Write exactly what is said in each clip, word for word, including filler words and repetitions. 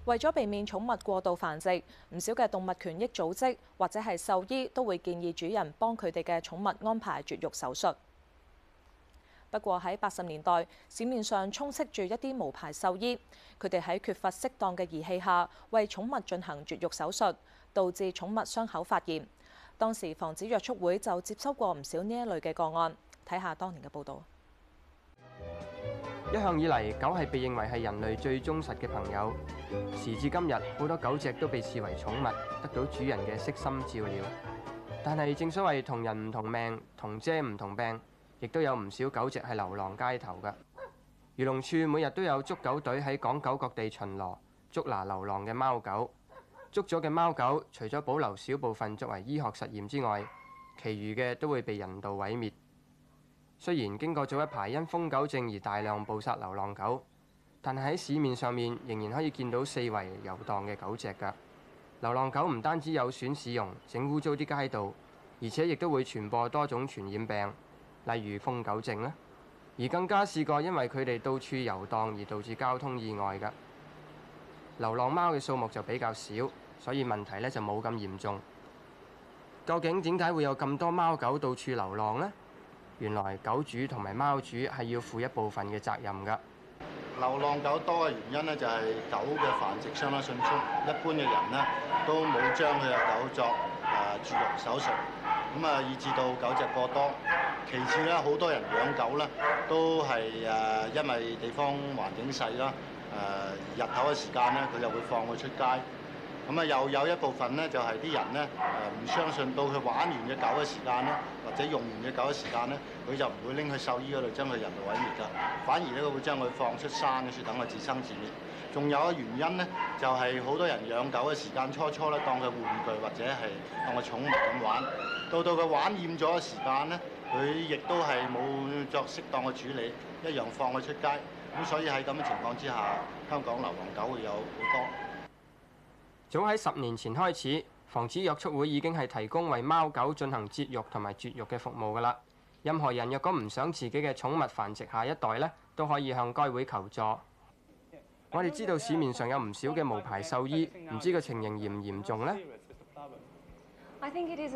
為咗避免寵物過度繁殖，唔少嘅動物權益組織或者係獸醫都會建議主人幫佢哋嘅寵物安排絕育手術。不過喺八十年代，市面上充斥住一啲無牌獸醫，佢哋喺缺乏適當嘅儀器下，為寵物進行絕育手術，導致寵物傷口發炎。當時防止虐畜會就接收過唔少呢一類嘅個案。睇下當年嘅報導。 一向以嚟，狗係被認為係人類最忠實嘅朋友。時至今日，好多狗隻都被視為寵物，得到主人嘅悉心照料。但係正所謂同人唔同命，同遮唔同柄，亦都有唔少狗隻係流浪街頭㗎。漁農處每日都有捉狗隊喺港九各地巡邏，捉拿流浪嘅貓狗。捉咗嘅貓狗，除咗保留少部分作為醫學實驗之外，其餘嘅都會被人道毀滅。雖然經過咗一排因瘋狗症而大量捕殺流浪狗，但係喺市面上面仍然可以見到四圍遊蕩嘅狗隻㗎。流浪狗唔單止有損市容，整污糟啲街道，而且亦都會傳播多種傳染病，例如瘋狗症啦。而更加試過因為佢哋到處遊蕩而導致交通意外㗎。流浪貓嘅數目就比較少，所以問題呢就冇咁嚴重。究竟點解會有咁多貓狗到處流浪呢？原來狗主同埋貓主係要負一部分嘅責任㗎。 流浪狗多嘅原因呢，就係狗嘅繁殖相當迅速，一般嘅人呢都冇將佢嘅狗作誒絕育手術，咁啊以致到狗隻過多。其次咧，好多人養狗咧都係誒因為地方環境細啦，誒日頭嘅時間咧佢就會放佢出街。咁啊，又有一部分咧，就係啲人咧誒唔相信到佢玩完嘅狗嘅時間咧，或者用完嘅狗嘅時間咧，佢就唔會拎去獸醫嗰度將佢人道毀滅㗎，反而咧佢會將佢放出山嗰處等佢自生自滅。仲有一個原因咧，就係好多人養狗嘅時間初初咧當佢玩具或者係當佢寵物咁玩，到到佢玩厭咗嘅時間咧，佢亦都係冇作適當嘅處理，一樣放佢出街。咁所以喺咁嘅情況之下，香港流浪狗會有好多。 早喺十年前開始，防止虐畜會已經係提供為貓狗進行節育同埋絕育嘅服務㗎啦。任何人若果唔想自己嘅寵物繁殖下一代呢，都可以向該會求助。我哋知道市面上有唔少嘅無牌獸醫，唔知個情形嚴唔嚴重呢？ 我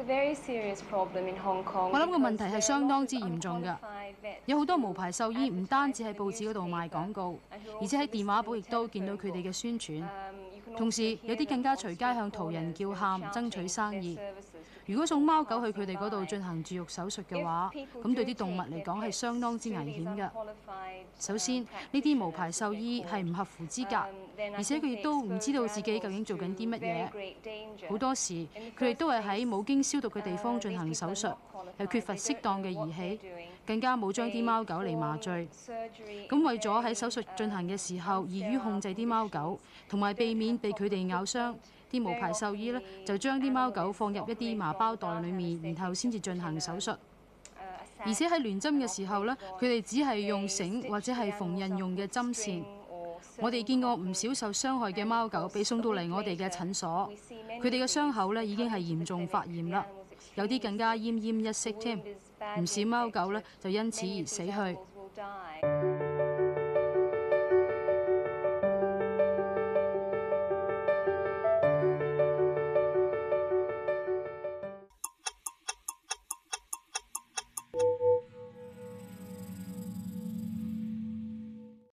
諗個問題係相當之嚴重㗎，有好多無牌獸醫唔單止喺報紙嗰度賣廣告，而且喺電話簿亦都見到佢哋嘅宣傳。同時有啲更加隨街向途人叫喊，爭取生意。如果送貓狗去佢哋嗰度進行絕育手術嘅話，咁對啲動物嚟講係相當之危險㗎。首先，呢啲無牌獸醫係唔合乎資格，而且佢亦都唔知道自己究竟做緊啲乜嘢。好多時佢哋都係喺冇經消毒嘅地方進行手術，又缺乏適當嘅儀器，更加冇將啲貓狗嚟麻醉。咁為咗喺手術進行嘅時候易於控制啲貓狗，同埋避免被佢哋咬傷，啲無牌獸醫呢就將啲貓狗放入一啲麻包袋裡面，然後先至進行手術。而且喺亂針嘅時候呢，佢哋只係用繩或者係縫紉用嘅針線。我哋見過唔少受傷害嘅貓狗被送到嚟我哋嘅診所，佢哋嘅傷口呢已經係嚴重發炎啦，有啲更加奄奄一息添。唔少貓狗呢就因此而死去。